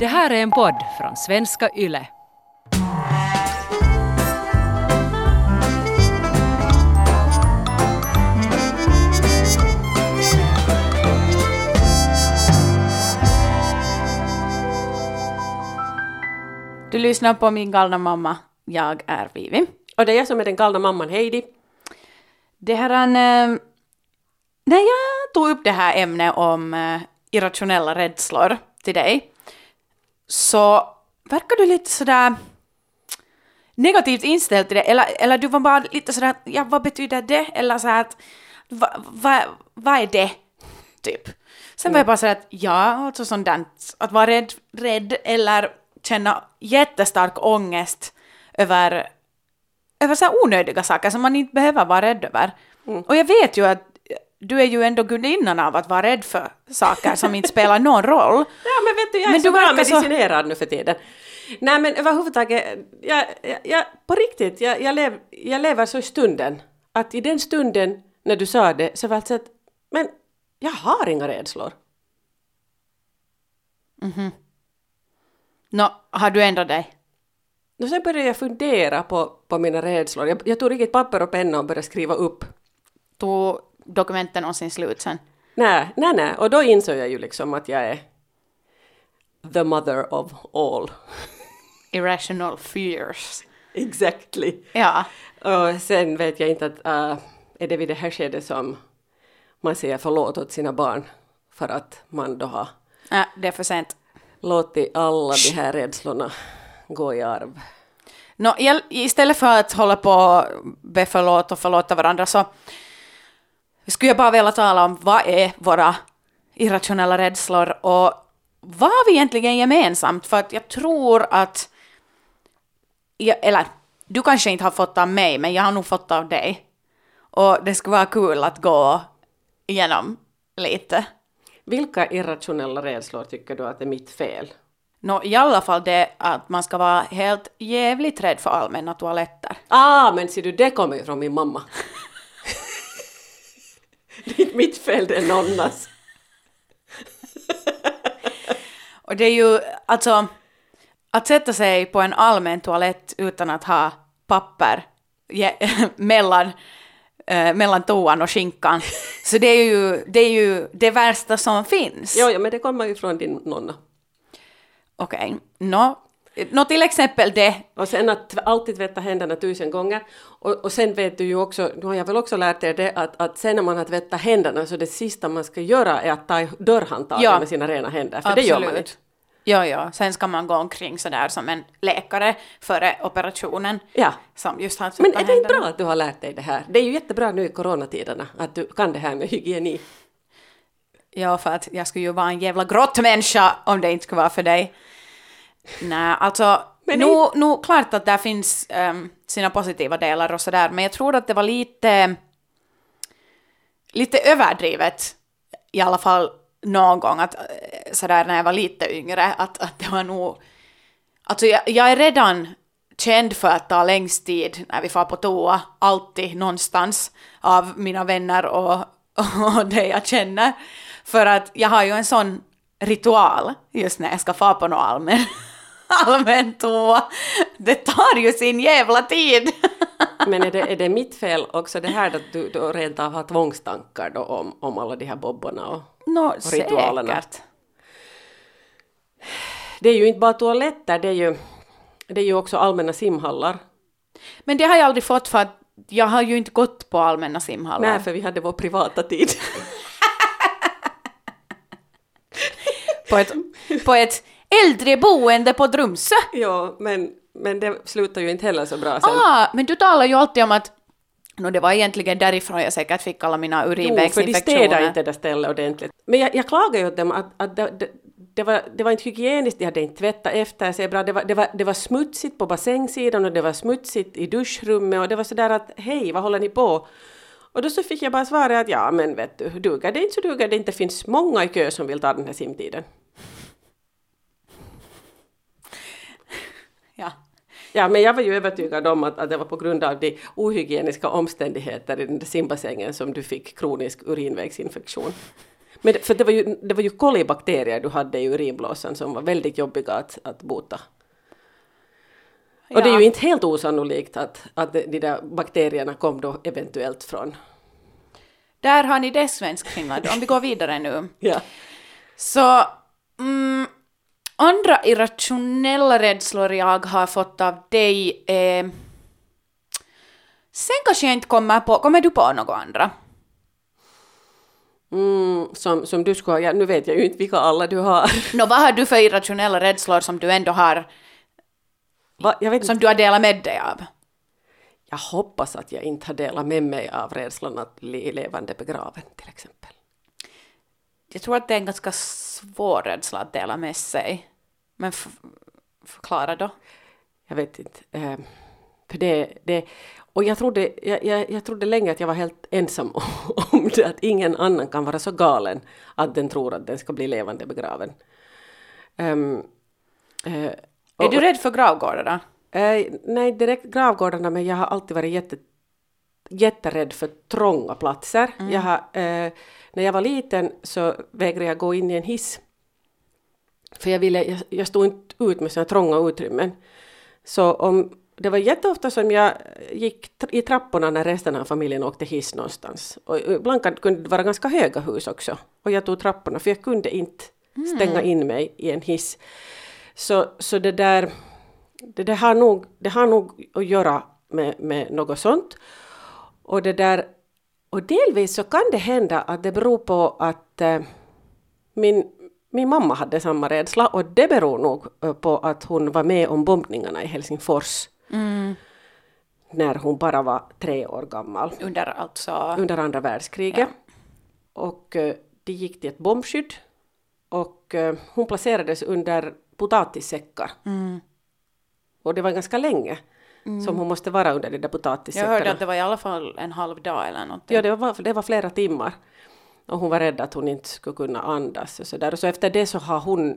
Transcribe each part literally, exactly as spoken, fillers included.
Det här är en podd från Svenska Yle. Du lyssnar på min galna mamma. Jag är Vivi. Och det är jag som är den galna mamman Heidi. Det här är en, äh, när jag tog upp det här ämnet om äh, irrationella rädslor till dig, så verkar du lite sådär negativt inställd till det. Eller, eller du var bara lite sådär, ja, vad betyder det? Eller så att, vad va, va är det? Typ. Sen mm. var jag bara sådär att, ja, alltså sådant, att vara rädd, rädd eller känna jättestark ångest över, över så här onödiga saker som man inte behöver vara rädd över. Mm. Och jag vet ju att du är ju ändå gudinnan av att vara rädd för saker som inte spelar någon roll. Ja, men vet du, jag är men så bra medicinerad så... nu för tiden. Nej, men överhuvudtaget, jag, jag, jag, på riktigt, jag, jag, lev, jag lever så i stunden. Att i den stunden när du sa det så var det så att, men jag har inga rädslor. Mhm. Nå, har du ändrat dig? Och sen började jag fundera på, på mina rädslor. Jag, jag tog riktigt papper och penna och började skriva upp. Tog dokumenten någonsin slut sen? Nej, nej, nej. Och då insåg jag ju liksom att jag är the mother of all. Irrational fears. Exactly. Ja. Och sen vet jag inte att uh, är det vid det här skedet som man säger förlåt åt sina barn för att man då har ja, det är för sent. låtit alla de här rädslorna gå i arv. No, istället för att hålla på och be förlåt och förlåta varandra så skulle jag bara vilja tala om vad är våra irrationella rädslor och vad har vi egentligen gemensamt? För att jag tror att, jag, eller du kanske inte har fått av mig, men jag har nog fått av dig. Och det skulle vara kul att gå igenom lite. Vilka irrationella rädslor tycker du att är mitt fel? No, i alla fall det att man ska vara helt jävligt rädd för allmänna toaletter. Ah, men ser du, det kommer ju från min mamma. Det är inte mitt fel, det är nonnas. Och det är ju, alltså, att sätta sig på en allmän toalett utan att ha papper je, mellan, äh, mellan toan och skinkan. Så det är ju det, är ju det värsta som finns. Jo, ja, men det kommer ju från din nonna. Okej, okay. no, no, till exempel det. Och sen att alltid tvätta händerna tusen gånger. Och, och sen vet du ju också, nu har jag väl också lärt er det, att, att sen när man har tvättat händerna så det sista man ska göra är att ta i dörrhandtagen ja. med sina rena händer. För absolut. Det gör man inte. Ja, ja. Sen ska man gå omkring sådär som en läkare före operationen. Ja. Som just har men är det inte bra att du har lärt dig det här? Det är ju jättebra nu i coronatiderna att du kan det här med hygieni. Ja, för att jag skulle ju vara en jävla grottmänniska om det inte skulle vara för dig. Nej, alltså, nu, det... nu klart att där finns um, sina positiva delar och sådär, men jag tror att det var lite, lite överdrivet, i alla fall någon gång, att sådär när jag var lite yngre, att, att det var nog, alltså jag, jag är redan känd för att ta längst tid när vi får på toa, alltid någonstans av mina vänner och, och det jag känner, för att jag har ju en sån ritual just när jag ska få på något allmän, allmän toa. Det tar ju sin jävla tid. Men är det, är det mitt fel också det här att du, du rent av har tvångstankar då om, om alla de här bobborna och, no, och ritualerna? Säkert. Det är ju inte bara toaletter, det är ju, det är ju också allmänna simhallar. Men det har jag aldrig fått för att jag har ju inte gått på allmänna simhallar. Nej, för vi hade vår privata tid. På ett, på ett äldreboende på Drumsö. Ja, men, men det slutar ju inte heller så bra sen. Ah, men du talar ju alltid om att no, det var egentligen därifrån jag säkert fick alla mina urinvägsinfektioner. Jo, för de städade inte det stället ordentligt. Men jag, jag klagar ju åt dem att, att det, det, det, var, det var inte hygieniskt, de hade inte tvättat efter sig bra. Det var, det, var, det var smutsigt på bassängsidan och det var smutsigt i duschrummet och det var sådär att hej, vad håller ni på? Och då så fick jag bara svara att ja, men vet du, duger det inte så duger det inte. Finns många i kö som vill ta den här simtiden. Ja. Ja, men jag var ju övertygad om att, att det var på grund av de ohygieniska omständigheter i den där simbassängen som du fick kronisk urinvägsinfektion. Men för det var ju, det var ju kolibakterier du hade i urinblåsan som var väldigt jobbiga att, att bota. Ja. Och det är ju inte helt osannolikt att, att de där bakterierna kom då eventuellt från. Där har ni det, svensk Finland. Om vi går vidare nu. Ja. Så mm, andra irrationella rädslor jag har fått av dig är... Sen kanske jag inte kommer på... Kommer du på något andra? Mm, som, som du skulle ha... Ja, nu vet jag ju inte vilka alla du har. Nå, vad har du för irrationella rädslor som du ändå har... Va? Jag vet som inte. du har delat med dig av? Jag hoppas att jag inte har delat med mig av rädslan att bli levande begraven till exempel. Jag tror att det är en ganska svår rädsla att dela med sig. Men f- förklara då. Jag vet inte. Eh, för det, det, och jag trodde, jag, jag, jag trodde länge att jag var helt ensam om det. Att ingen annan kan vara så galen att den tror att den ska bli levande begraven. Um, eh, är du rädd för gravgårdar då? Eh, nej, direkt gravgårdarna, men jag har alltid varit jätte, jätterädd för trånga platser. Mm. Jag har, eh, när jag var liten så vägrade jag gå in i en hiss. För jag, ville, jag, jag stod inte ut med sådana trånga utrymmen. Så om, det var jätteofta som jag gick i trapporna när resten av familjen åkte hiss någonstans. Och ibland kunde det vara ganska höga hus också. Och jag tog trapporna för jag kunde inte stänga mm. in mig i en hiss. Så, så det där... Det, det, har nog, det har nog att göra med, med något sånt. Och, det där, och delvis så kan det hända att det beror på att eh, min, min mamma hade samma rädsla. Och det beror nog på att hon var med om bombningarna i Helsingfors. Mm. När hon bara var tre år gammal. Under, alltså... Under andra världskriget. Ja. Och eh, det gick till ett bombskydd. Och eh, hon placerades under potatissäckar. Mm. Och det var ganska länge mm. som hon måste vara under de där potatissäckarna. Jag hörde att det var i alla fall en halv dag eller något. Ja, det var, det var flera timmar. Och hon var rädd att hon inte skulle kunna andas. Och så, där. Och så efter det så har hon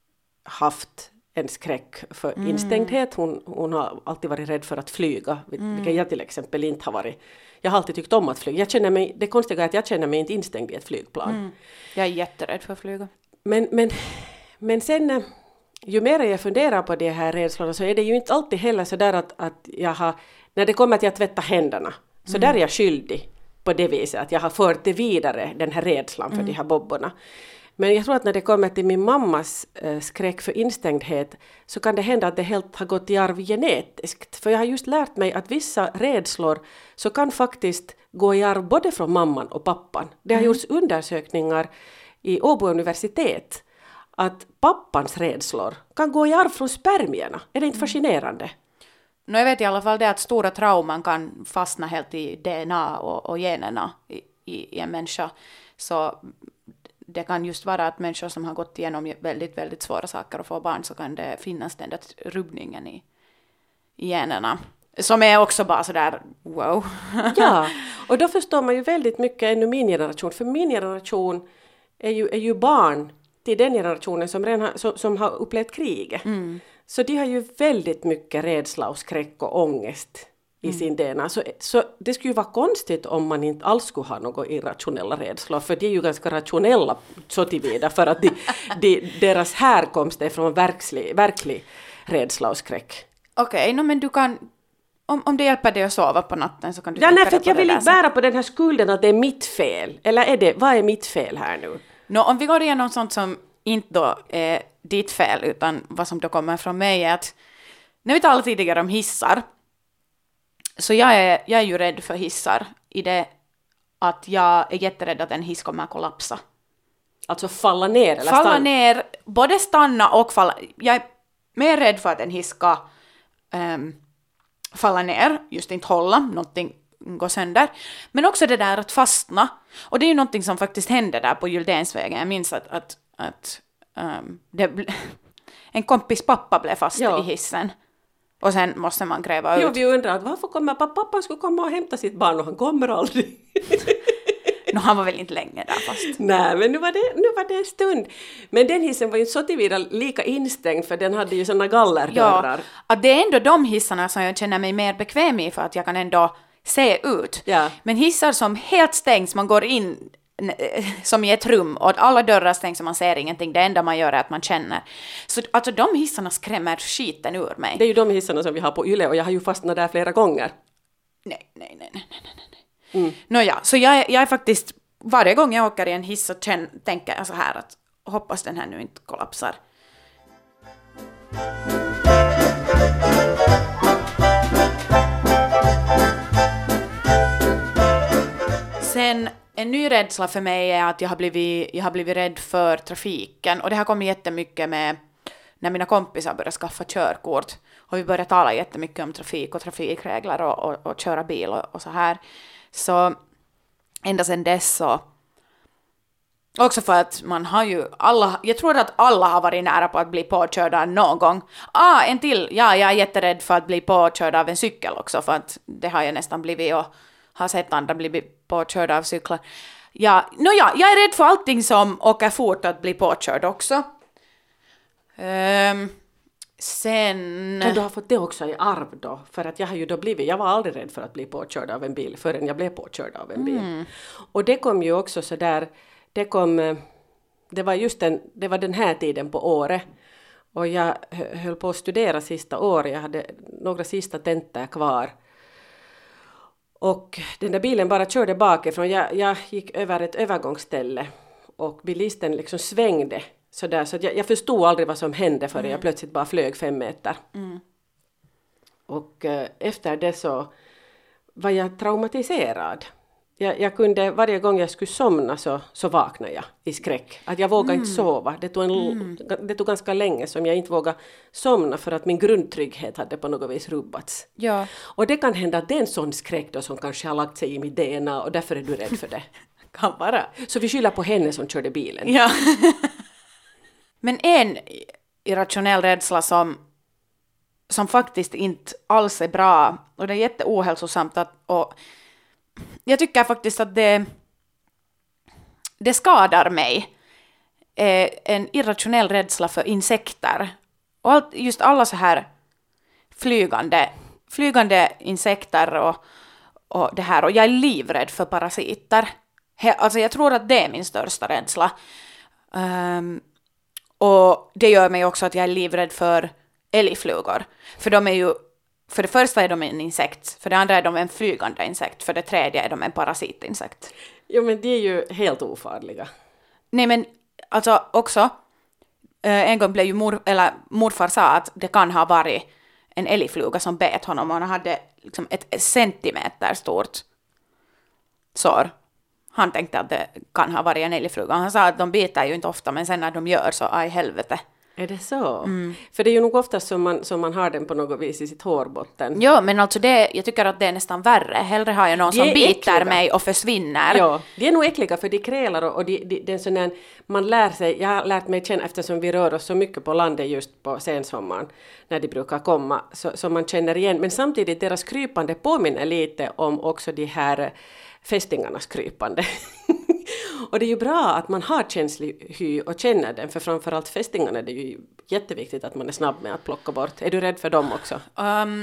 haft en skräck för mm. instängdhet. Hon, hon har alltid varit rädd för att flyga. Mm. Vilket jag till exempel inte har varit. Jag har alltid tyckt om att flyga. Jag känner mig, det konstiga är att jag känner mig inte instängd i ett flygplan. Mm. Jag är jätterädd för att flyga. Men, men, men sen... Ju mer jag funderar på de här rädslorna så är det ju inte alltid heller så där att, att jag har, när det kommer till att tvätta händerna, så mm. där är jag skyldig på det viset att jag har fört det vidare, den här rädslan för mm. de här bobborna. Men jag tror att när det kommer till min mammas äh, skräck för instängdhet så kan det hända att det helt har gått i arv genetiskt. För jag har just lärt mig att vissa rädslor så kan faktiskt gå i arv både från mamman och pappan. Det har mm. gjorts undersökningar i Åbo universitet att pappans rädslor kan gå i arv från spermierna. Är det inte fascinerande? No, jag vet i alla fall det att stora trauman kan fastna helt i D N A och, och generna i, i, i en människa. Så det kan just vara att människor som har gått igenom väldigt, väldigt svåra saker och får barn så kan det finnas den där rubbningen i, i generna. Som är också bara sådär, wow. Ja, och då förstår man ju väldigt mycket ännu min generation. För min generation är ju, är ju barn till den generationen som, redan har, som, som har upplevt kriget. Mm. Så de har ju väldigt mycket rädsla och skräck och ångest i mm. sin D N A. Så, så det skulle ju vara konstigt om man inte alls skulle ha några irrationella rädslor. För de är ju ganska rationella så tillvida för att de, de, deras härkomst är från verklig, verklig rädsla och skräck. Okej, okay, no, men du kan... Om, om det hjälper dig att sova på natten så kan du... Ja, nej, för att jag vill inte bära på den här skulden att det är mitt fel. Eller är det, vad är mitt fel här nu? No, om vi går igenom sånt som inte då är ditt fel utan vad som då kommer från mig är att när vi talade tidigare om hissar så jag är, jag är ju rädd för hissar i det att jag är jätterädd att en hiss kommer att kollapsa. Alltså falla ner eller falla stanna? ner, både stanna och falla. Jag är mer rädd för att en hiss ska um, falla ner, just inte hålla, någonting gå sönder. Men också det där att fastna. Och det är ju någonting som faktiskt hände där på Gyldensvägen. Jag minns att, att, att um, det ble, en kompis pappa blev fast ja. i hissen. Och sen måste man gräva ut. Jo, vi undrar att varför kommer pappa? Pappa skulle komma och hämta sitt barn och han kommer aldrig. No, han var väl inte länge där fast. Nej, men nu var, det, nu var det en stund. Men den hissen var ju så tillvida lika instängd för den hade ju såna gallerdörrar. Ja, att det är ändå de hissarna som jag känner mig mer bekväm i för att jag kan ändå se ut. Ja. Men hissar som helt stängs, man går in som i ett rum och alla dörrar stängs och man ser ingenting. Det enda man gör är att man känner. Så alltså de hissarna skrämmer skiten ur mig. Det är ju de hissarna som vi har på Yle och jag har ju fastnat där flera gånger. Nej, nej, nej, nej, nej, nej. Mm. Nåja, så jag, jag är faktiskt, varje gång jag åker i en hiss så känner, tänker jag så här att hoppas den här nu inte kollapsar. Sen en ny rädsla för mig är att jag har blivit, jag har blivit rädd för trafiken. Och det har kommit jättemycket med när mina kompisar började skaffa körkort. Och vi började tala jättemycket om trafik och trafikregler och, och, och köra bil och, och så här. Så ända sedan dess så... Också för att man har ju alla... Jag tror att alla har varit nära på att bli påkörda någon gång. Ah, en till! Ja, jag är jätterädd för att bli påkörd av en cykel också. För att det har jag nästan blivit och har sett andra bli påkörda av cyklar. Ja, no ja, jag är rädd för allting som åker fort att bli påkörd också. Um, sen... Kan du ha fått det också i arv då? För att jag har ju då blivit, jag var aldrig rädd för att bli påkörd av en bil förrän jag blev påkörd av en bil. Mm. Och det kom ju också så där, det kom, det var just den, det var den här tiden på året. Och jag höll på att studera sista året, jag hade några sista tentor kvar. Och den där bilen bara körde bakifrån. Jag, jag gick över ett övergångsställe och bilisten liksom svängde sådär. Så att jag, jag förstod aldrig vad som hände förrän mm. jag plötsligt bara flög fem meter. Mm. Och eh, efter det så var jag traumatiserad. Jag, jag kunde, varje gång jag skulle somna så, så vaknade jag i skräck. Att jag vågade mm. inte sova. Det tog, en, mm. det tog ganska länge som jag inte vågade somna för att min grundtrygghet hade på något vis rubbats. Ja. Och det kan hända att det är en sån skräck då som kanske har lagt sig i mitt D N A och därför är du rädd för det. Kan vara. Så vi skyller på henne som körde bilen. Ja. Men en irrationell rädsla som, som faktiskt inte alls är bra och det är jätteohälsosamt att... Och, jag tycker faktiskt att det, det skadar mig. Eh, en irrationell rädsla för insekter. Och allt, just alla så här flygande, flygande insekter och, och det här. Och jag är livrädd för parasiter. He, alltså jag tror att det är min största rädsla. Um, och det gör mig också att jag är livrädd för älgflugor. För de är ju... För det första är de en insekt, för det andra är de en flygande insekt, för det tredje är de en parasitinsekt. Jo, men de är ju helt ofarliga. Nej, men alltså också, eh, en gång blev ju mor, eller morfar sa att det kan ha varit en älgfluga som bet honom och han hade liksom ett centimeter stort sår. Han tänkte att det kan ha varit en älgfluga. Han sa att de biter ju inte ofta, men sen när de gör så, aj helvete. Är det så? Mm. För det är ju nog ofta som man, som man har den på något vis i sitt hårbotten. Ja, men alltså det, jag tycker att det är nästan värre. Hellre har jag någon som biter äckliga. mig och försvinner. Ja, de är nog äckliga för de krälar och, och de, de, det är sån här, man lär sig, jag har lärt mig känna eftersom vi rör oss så mycket på landet just på sensommaren när de brukar komma, så, så man känner igen. Men samtidigt deras krypande påminner lite om också de här fästingarnas krypande. Och det är ju bra att man har känslig hy och känner den, för framförallt fästingarna är det ju jätteviktigt att man är snabb med att plocka bort. Är du rädd för dem också? Um,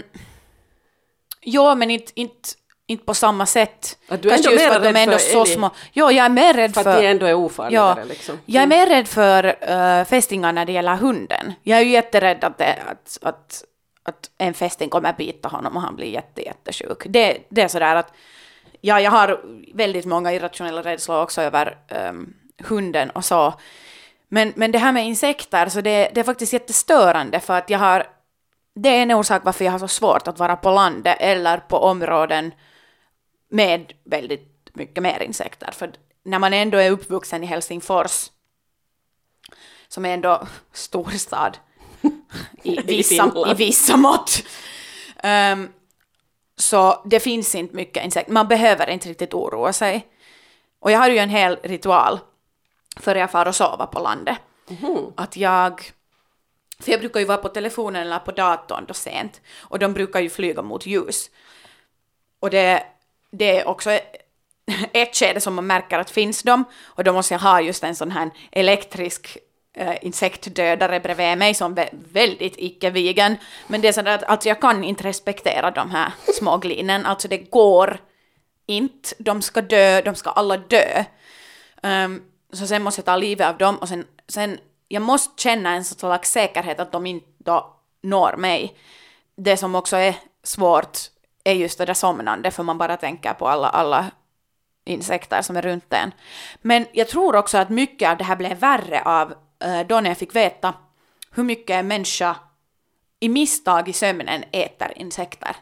ja, men inte, inte, inte på samma sätt. Att du är ändå mer rädd är ändå för så små. Ja, jag är mer rädd för... För att de ändå är ofarligare. Ja, liksom. mm. Jag är mer rädd för uh, fästingar när det gäller hunden. Jag är ju jätterädd att, det, att, att, att en fästing kommer bita honom och han blir jätte, jättesjuk. Det, det är sådär att ja, jag har väldigt många irrationella rädslor också över um, hunden och så. Men, men det här med insekter, så det, det är faktiskt jättestörande för att jag har, det är en orsak varför jag har så svårt att vara på landet eller på områden med väldigt mycket mer insekter. För när man ändå är uppvuxen i Helsingfors, som är ändå storstad i vissa, i vissa mått, um, så det finns inte mycket insekter. Man behöver inte riktigt oroa sig. Och jag har ju en hel ritual för jag far och sova på landet. Mm. Att jag... För jag brukar ju vara på telefonen eller på datorn då sent. Och de brukar ju flyga mot ljus. Och det, det är också ett skede som man märker att finns de. Och då måste jag ha just en sån här elektrisk Uh, insektdödare bredvid mig som är väldigt icke-vegan. Men det är så att alltså jag kan inte respektera de här små glinen. Alltså det går inte. De ska dö, de ska alla dö. Um, så sen måste jag ta livet av dem och sen, sen jag måste känna en slags säkerhet att de inte då når mig. Det som också är svårt är just det där somnande, för man bara tänker på alla, alla insekter som är runt en. Men jag tror också att mycket av det här blev värre av uh, då när jag fick veta hur mycket en människa i misstag i sömnen äter insekter.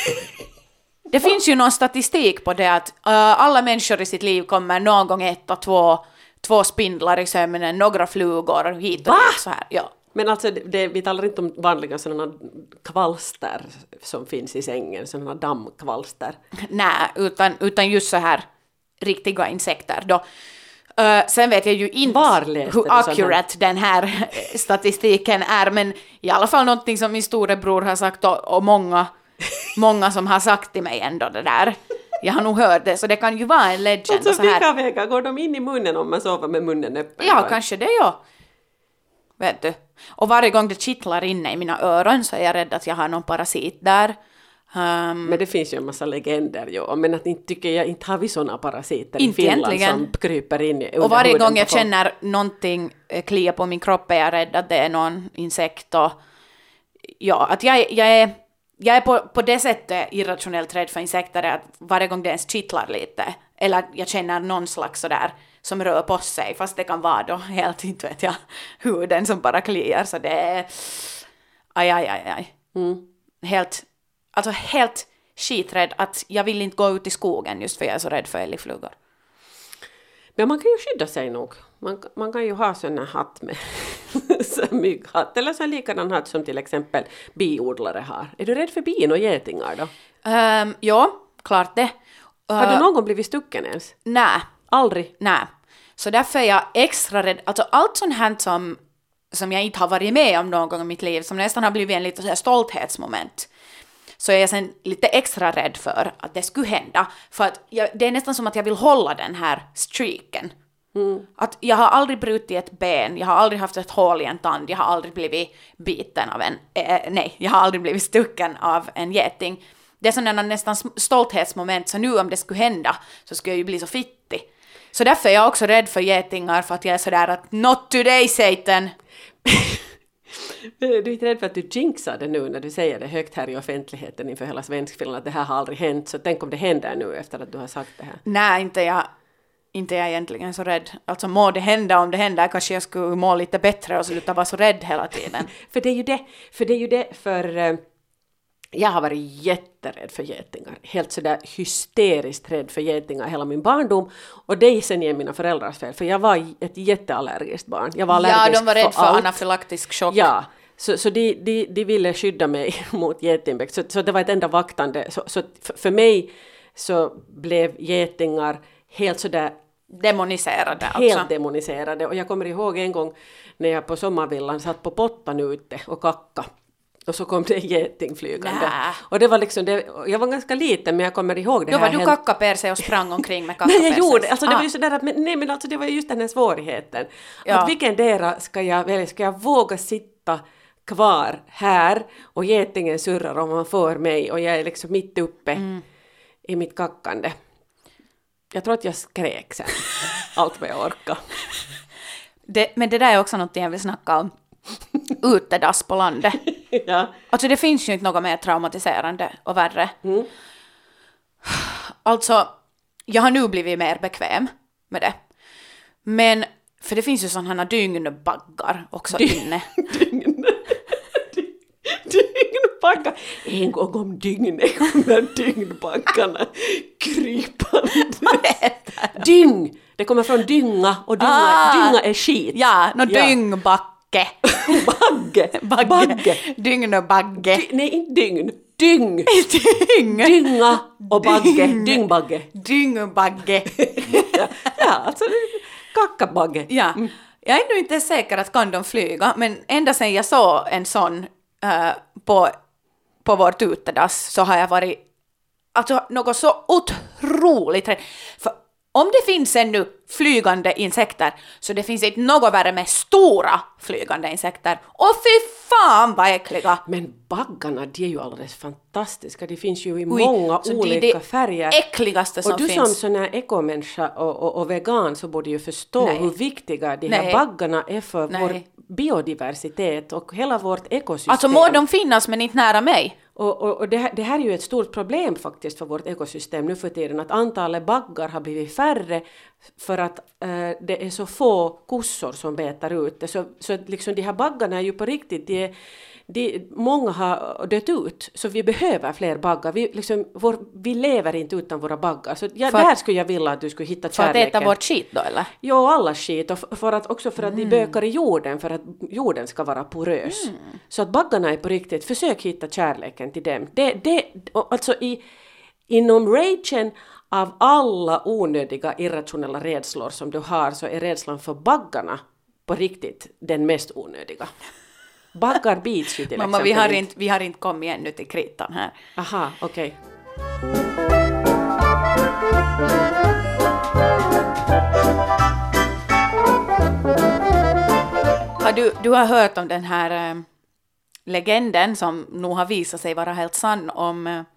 Det finns ju någon statistik på det att uh, alla människor i sitt liv kommer någon gång äta två, två spindlar i sömnen, några flugor hit och dit så här. Ja. Men alltså, det, vi talar inte om vanliga sådana kvalster som finns i sängen, sådana dammkvalster. Nej, utan, utan just så här riktiga insekter då. Uh, sen vet jag ju inte hur accurate den här statistiken är, men i alla fall någonting som min storebror har sagt och, och många, många som har sagt till mig ändå det där. Jag har nog hört det, så det kan ju vara en legend. Alltså så här. vilka vägar går de in i munnen om man sover med munnen öppen? Ja, kanske det, ja. Vet du. Och varje gång det kittlar inne i mina öron så är jag rädd att jag har någon parasit där. Um, men det finns ju en massa legender, jo. Men att inte tycker jag, inte har vi sådana parasiter inte i Finland egentligen. Som kryper in under och varje gång jag folk. känner någonting klia på min kropp är jag rädd att det är någon insekt. Och, ja, att jag, jag är, jag är på, på det sättet irrationellt rädd för insekter, att varje gång det ens kittlar lite, eller att jag känner någon slags sådär som rör på sig, fast det kan vara då helt, inte vet jag, huden som bara kliar, så det är aj, aj, aj, aj. Mm. Helt, alltså helt skiträdd att jag vill inte gå ut i skogen just för jag är så rädd för älgflugor. Men man kan ju skydda sig nog. Man, man kan ju ha sån här hatt med mygghatt, eller så likadan hatt som till exempel biodlare har. Är du rädd för bin och getingar då? Um, ja, klart det. Uh, har du någon gång blivit stucken ens? Nej. Aldrig? Nej. Så därför är jag extra rädd. Alltså allt sånt här som, som jag inte har varit med om någon gång i mitt liv, som nästan har blivit en lite så här stolthetsmoment, så är jag sen lite extra rädd för att det skulle hända. För att jag, det är nästan som att jag vill hålla den här streaken. Mm. Att jag har aldrig brutit ett ben, jag har aldrig haft ett hål i en tand, jag har aldrig blivit biten av en, eh, nej, jag har aldrig blivit stucken av en geting. Det är sådana nästan stolthetsmoment, så nu om det skulle hända så skulle jag ju bli så fittig. Så därför är jag också rädd för getingar, för att jag är sådär att not today, Satan! Du är inte rädd för att du jinxar det nu när du säger det högt här i offentligheten inför hela Svenskfinland, att det här har aldrig hänt, så tänk om det händer nu efter att du har sagt det här. Nej, inte jag, inte jag egentligen så rädd. Alltså må det hända, om det händer kanske jag skulle må lite bättre och sluta vara så rädd hela tiden. för det är ju det, för det är ju det, för uh, jag har varit jätterädd för getingar. Helt sådär hysteriskt rädd för getingar hela min barndom. Och det är sen igen mina föräldrars fel. För jag var ett jätteallergiskt barn. Jag var allergisk ja, de var rädda för, för anafylaktisk chock. Ja, så, så de, de, de ville skydda mig mot getingväxt. Så, så det var ett enda vaktande. Så, så för, för mig så blev getingar helt sådär demoniserade. Helt alltså. demoniserade. Och jag kommer ihåg en gång när jag på sommarvillan satt på pottan ute och kacka. Och så kom det en geting flygande. Nä. Och det var liksom, det, jag var ganska liten men jag kommer ihåg det Då här. Då var du helt... kackaperse och sprang omkring med kackaperse. Nej, jag gjorde, alltså det ah. var ju sådär att, men, nej men alltså det var just den här svårigheten. Ja. Att vilken dera ska jag välja, ska jag våga sitta kvar här och getingen surrar om man får mig och jag är liksom mitt uppe mm. i mitt kackande. Jag tror att jag skrek sen, allt vad jag orkade. Det, men det där är också något jag vill snacka om. Utedass på landet. Ja. Alltså det finns ju inte något mer traumatiserande och värre. Mm. Alltså, jag har nu blivit mer bekväm med det. Men, för det finns ju sådana dygnbaggar också Dy- inne. Dygn. Dygnbaggar. En gång om dygnet kommer dygnbaggarna krypande. Vad heter det? Dyng! Det kommer från dynga och dynga, Ah. dynga är skit. Ja, no Ja. dyngbacke. Bagge. Bagge. Bagge. Dygnbagge. Dy- nej, inte dygn. Dyng. Dyng. Dynga och bagge. Dyng. Dyngbagge. Dyngbagge. Ja, ja alltså kackabagge. Ja. Mm. Jag är ändå inte säker att kan de flyga, men ända sedan jag såg en sån uh, på, på vårt utedass så har jag varit alltså något så otroligt rädd. För om det finns ännu flygande insekter, så det finns inte något värre med stora flygande insekter. Och fy fan vad äckliga! Men baggarna, de är ju alldeles fantastiska. De finns ju i Oj, många olika det är det färger. Äckligaste som och du finns. som sån här ekomänniska och, och, och vegan så borde ju förstå Nej. hur viktiga de Nej. här baggarna är för Nej. vår biodiversitet och hela vårt ekosystem. Alltså må de finnas men inte nära mig. Och, och, och det, här, det här är ju ett stort problem faktiskt för vårt ekosystem nu för tiden, att antalet baggar har blivit färre för att eh, det är så få kossor som betar ut det. Så, så att liksom de här baggarna är ju på riktigt, de är, de, många har dött ut, så vi behöver fler baggar. Vi, liksom, vår, vi lever inte utan våra baggar. Så ja, För där att- skulle jag vilja att du skulle hitta För att kärleken. äta vårt skit då eller? Jo, alla skit. Och f- för att, också för att de bökar i jorden, för att jorden ska vara porös. Så att baggarna är på riktigt, försök hitta kärleken till dem. Det, det, och alltså i, inom ragen av alla onödiga irrationella rädslor som du har, så är rädslan för baggarna på riktigt den mest onödiga. Baggar bits ju till Mamma, exempel vi har, inte, vi har inte kommit ännu till kritan här. Aha, okej. Har du, du har hört om den här eh, legenden som nog har visat sig vara helt sann om... Eh,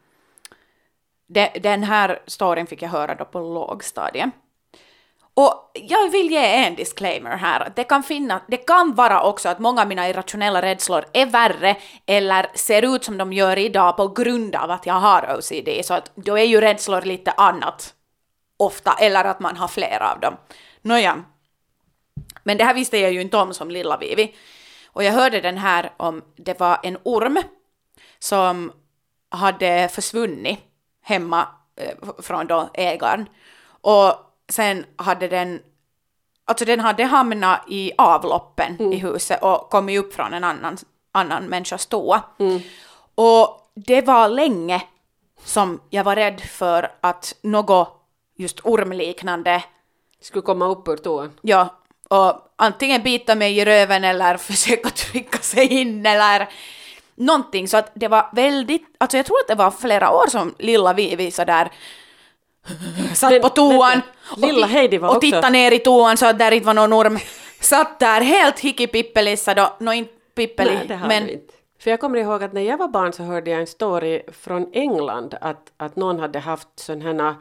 de, den här storyn fick jag höra då på lågstadiet. Och jag vill ge en disclaimer här. Att det, kan finna, det kan vara också att många av mina irrationella rädslor är värre eller ser ut som de gör idag på grund av att jag har O C D. Så att då är ju rädslor lite annat ofta, eller att man har flera av dem. Nåja. Men det här visste jag ju inte om som lilla Vivi. Och jag hörde den här om, det var en orm som hade försvunnit hemma eh, från då ägaren. Och sen hade den, alltså den hade hamnat i avloppen mm. i huset och kommit upp från en annan, annan människas toa. Mm. Och det var länge som jag var rädd för att något just ormliknande Skulle komma upp ur toan. Ja, och antingen bita mig i röven eller försöka trycka sig in eller någonting. Så att det var väldigt, alltså jag tror att det var flera år som lilla Vivi så där satt Men- på toan men- lilla och, Heidi var och också- tittade ner i toan så att där inte var någon orm. Satt där helt hickipippelissa då, nå inte pippeli, Nej, det har men du inte. För jag kommer ihåg att när jag var barn så hörde jag en story från England att, att någon hade haft sådana här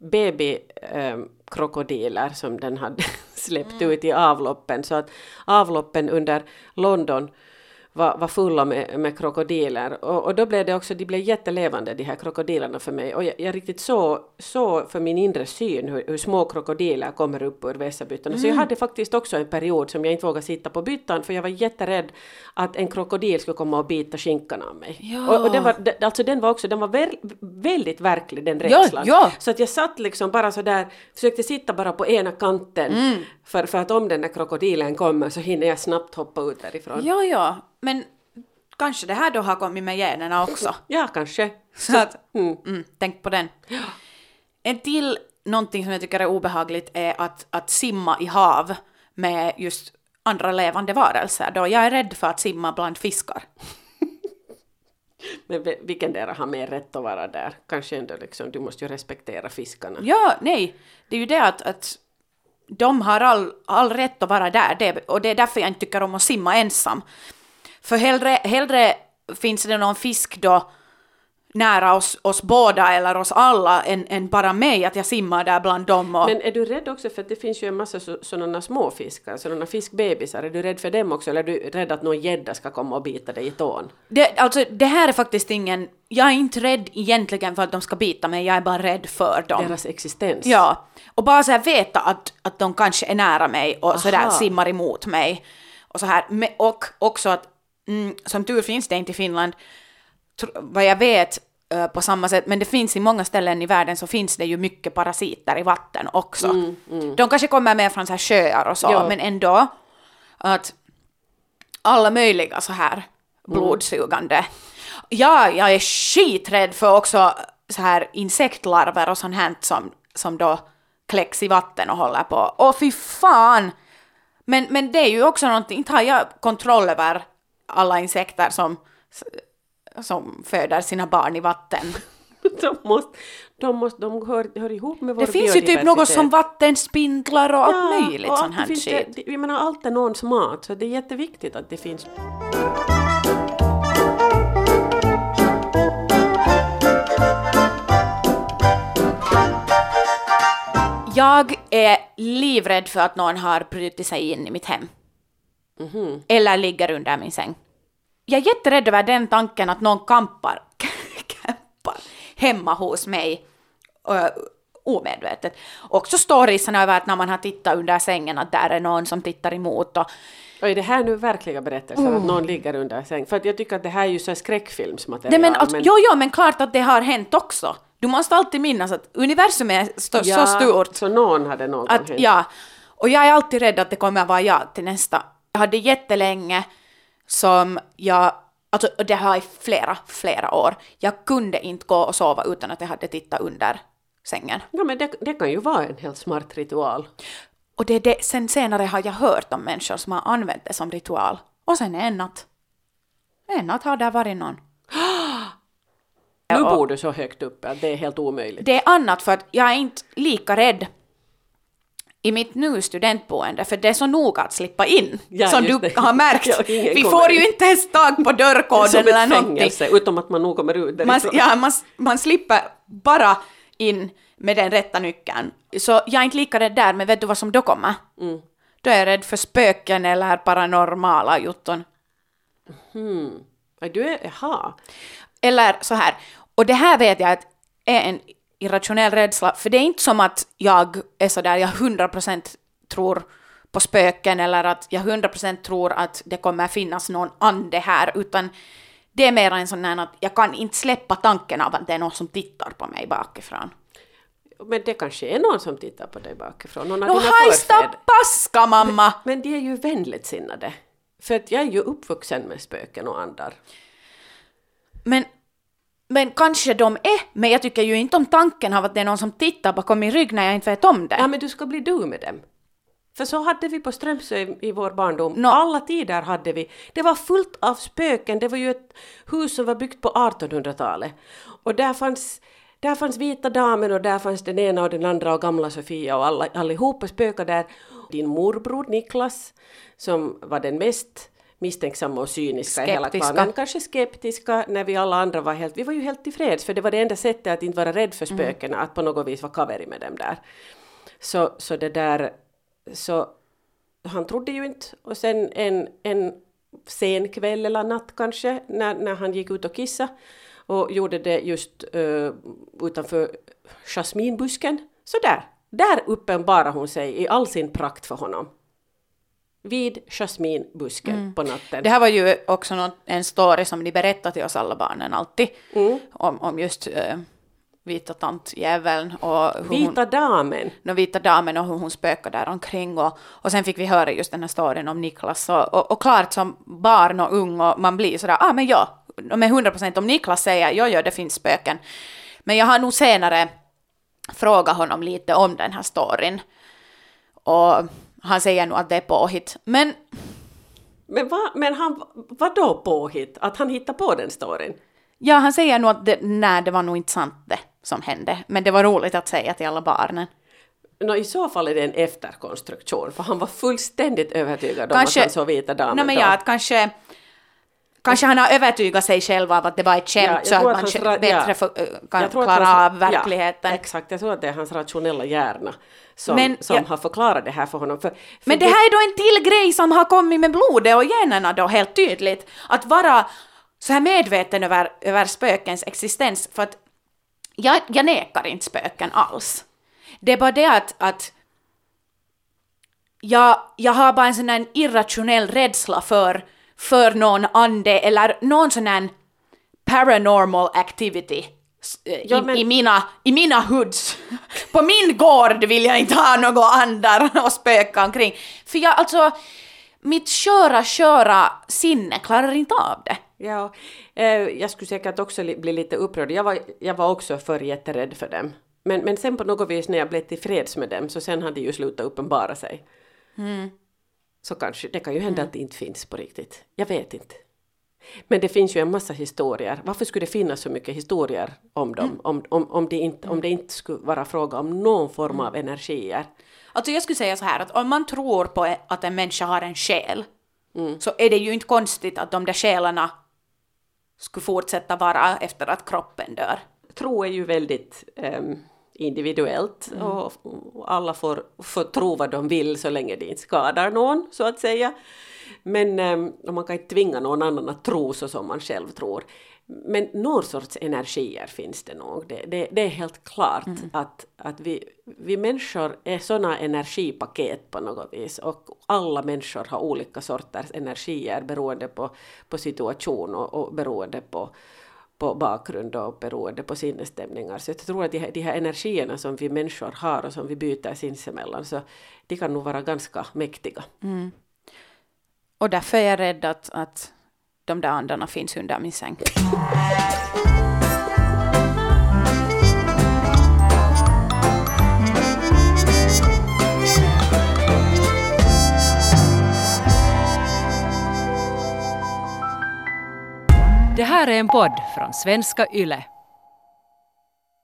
babykrokodiller som den hade släppt ut i avloppen. Så att avloppen under London var, var fulla med, med krokodiler. Och, och då blev det också, de blev jättelevande de här krokodilerna för mig. Och jag, jag riktigt så, så för min inre syn hur, hur små krokodiler kommer upp ur vässabyttorna. Mm. Så jag hade faktiskt också en period som jag inte vågade sitta på byttan för jag var jätterädd att en krokodil skulle komma och bita skinkan av mig. Ja. Och, och den var, det- alltså den var också, den var ver, väldigt verklig den rädslan. ja. Så att jag satt liksom bara så där, försökte sitta bara på ena kanten Mm. för, för att om den där krokodilen kommer så hinner jag snabbt hoppa ut därifrån. ja, ja, men kanske det här då har kommit med generna också. Ja, kanske. Så att, Mm. mm, tänk på den. En till någonting som jag tycker är obehagligt är att, att simma i hav med just andra levande varelser. Då jag är rädd för att simma bland fiskar. Men vi- vilken där har mer rätt att vara där? Kanske ändå liksom, du måste ju respektera fiskarna. Ja, nej. Det är ju det att, att de har all, all rätt att vara där. Det, och det är därför jag inte tycker om att simma ensam. För hellre, hellre finns det någon fisk då nära oss, oss båda eller oss alla än, än bara mig att jag simmar där bland dem. Och, Men är du rädd också för att det finns ju en massa så, sådana små fiskar, sådana fiskbebisar. Är du rädd för dem också eller är du rädd att någon gädda ska komma och bita dig i tån? det, alltså, det här är faktiskt ingen... Jag är inte rädd egentligen för att de ska bita mig, jag är bara rädd för dem. Deras existens. Ja, och bara så här veta att, att de kanske är nära mig och så där Aha. simmar emot mig. Och så här, Me- och också att, mm, som tur finns det inte i Finland, tr- vad jag vet eh, på samma sätt, men det finns i många ställen i världen så finns det ju mycket parasiter i vatten också. Mm, mm. De kanske kommer med från så här sjöar och så, Ja. men ändå att alla möjliga så här blodsugande. Ja, jag är skiträdd för också så här insektlarver och sånt här som, som då kläcks i vatten och håller på. Åh fy fan! Men, men det är ju också någonting, inte har jag kontroll över alla insekter som, som föder sina barn i vatten. de måste, de, måste, de hör, hör ihop med vår Det finns ju typ något som vattenspindlar och allt ja, möjligt och sån här finns shit. Det, jag menar, allt är någons mat, så det är jätteviktigt att det finns. Jag är livrädd för att någon har brutit sig in i mitt hem. Mm-hmm. Eller ligger under min säng. Jag är jätterädd över den tanken att någon kampar, kampar hemma hos mig uh, omedvetet. Också storiesarna över att när man har tittat under sängen att där är någon som tittar emot. Och, och är det här nu verkliga berättelser mm. att någon ligger under sängen? För att jag tycker att det här är ju så skräckfilmsmaterial. Nej, men alltså, men... Jo, jo, men klart att det har hänt också. Du måste alltid minnas att universum är st- ja, så stort. Så någon hade någon att, hänt. Ja, och jag är alltid rädd att det kommer att vara jag till nästa. Jag hade jättelänge som jag, alltså det har i flera, flera år. Jag kunde inte gå och sova utan att jag hade tittat under sängen. Ja, men det, det kan ju vara en helt smart ritual. Och det, det, sen senare har jag hört om människor som har använt det som ritual. Och sen en natt. En natt har det varit någon. Nu bor du så högt uppe att det är helt omöjligt. Det är annat för att jag är inte lika rädd i mitt nu studentboende, för det är så noga att slippa in, ja, som du det. Har märkt. Ja, vi får ju inte ens tag på dörrkoden eller någonting. Fängelse, utom att man nog kommer ut därifrån. Man, ja, man, man slipper bara in med den rätta nyckeln. Så jag är inte lika rädd där, men vet du vad som då kommer? Mm. Då är jag rädd för spöken eller paranormala jutton. Mm. Du är, jaha. Eller så här, och det här vet jag att är en irrationell rädsla, för det är inte som att jag är så där, jag hundra procent tror på spöken eller att jag hundra procent tror att det kommer finnas någon ande här, utan det är mer en sån här att jag kan inte släppa tanken av att det är någon som tittar på mig bakifrån. Men det kanske är någon som tittar på dig bakifrån. Någon av no, dina hajsta förfäder. paska, mamma! Men, men de är ju vänligt sinnade. För att jag är ju uppvuxen med spöken och andar. Men Men kanske de är, men jag tycker ju inte om tanken av att det är någon som tittar bakom min rygg när jag inte vet om det. Ja, men du ska bli du med dem. För så hade vi på Strömsö i, i vår barndom. No. Alla tider hade vi. Det var fullt av spöken. Det var ju ett hus som var byggt på artonhundratalet. Och där fanns, där fanns vita damen och där fanns den ena och den andra och gamla Sofia och alla, allihopa spökade där. Din morbror Niklas, som var den mest misstänksamma och cyniska i hela klanen. Kanske skeptiska när vi alla andra var helt... Vi var ju helt tillfreds, för det var det enda sättet att inte vara rädd för spöken, mm. att på något vis vara kaveri med dem där. Så, så det där... Så han trodde ju inte. Och sen en, en sen kväll eller natt kanske, när, när han gick ut och kissade och gjorde det just uh, utanför jasminbusken. Så där, där uppenbarade hon sig i all sin prakt för honom. Vid jasminbusken mm. på natten. Det här var ju också något, en story som de berättade till oss alla barnen alltid. Mm. Om, om just uh, vita tantjäveln. Och hur vita hon, damen. No, vita damen och hur hon spökade där omkring. Och, och sen fick vi höra just den här storyn om Niklas. Och, och, och klart som barn och ung och man blir sådär, ah men ja, med hundra procent om Niklas säger, ja ja det finns spöken. Men jag har nog senare frågat honom lite om den här storyn. Och han säger nog att det är påhitt. Men, men, va, men han, vad då påhitt? Att han hittar på den storyn? Ja, han säger nog att det, nej, det var nog inte sant det som hände. Men det var roligt att säga till alla barnen. No, i så fall är det en efterkonstruktion. För han var fullständigt övertygad kanske, om att han såg vita damen. No, men ja, att kanske... Kanske han har övertygat sig själv av att det var ett skämt, ja, så att man ra- bättre ja. för, kan klara hans, av verkligheten. Ja, exakt, jag tror att det är hans rationella hjärna som, men, som ja. har förklarat det här för honom. För, för men det, det här är då en till grej som har kommit med blodet och generna då helt tydligt. Att vara så här medveten över, över spökens existens. För att jag, jag nekar inte spöken alls. Det är bara det att, att jag, jag har bara en sån här irrationell rädsla för för någon ande eller någon sån här paranormal activity i, ja, men... i, mina, i mina hoods. På min gård vill jag inte ha några andar och spöka omkring. För jag, alltså, mitt köra, köra sinne klarar inte av det. Ja, eh, jag skulle säkert också li- bli lite upprörd. Jag var, jag var också för jätterädd för dem. Men, men sen på något vis när jag blev tillfreds med dem så sen hade det ju slutat uppenbara sig. Mm. Så kanske, det kan ju hända mm. att det inte finns på riktigt. Jag vet inte. Men det finns ju en massa historier. Varför skulle det finnas så mycket historier om dem? Mm. Om, om, om, det inte, om det inte skulle vara fråga om någon form av energier. Alltså jag skulle säga så här att om man tror på att en människa har en själ mm. så är det ju inte konstigt att de där själarna skulle fortsätta vara efter att kroppen dör. Tro är ju väldigt um, individuellt mm. och, och alla får, får tro vad de vill så länge det inte skadar någon, så att säga. Men um, man kan inte tvinga någon annan att tro så som man själv tror. Men någon sorts energier finns det nog. Det, det, det är helt klart mm. att, att vi, vi människor är sådana energipaket på något vis. Och alla människor har olika sorters energier beroende på, på situation och, och beroende på, på bakgrund och beroende på sinnesstämningar. Så jag tror att de här, de här energierna som vi människor har och som vi byter sinsemellan, så de kan nog vara ganska mäktiga. Mm. Och därför är jag rädd att, att de där andarna finns under min säng. Det här är en podd från Svenska Yle.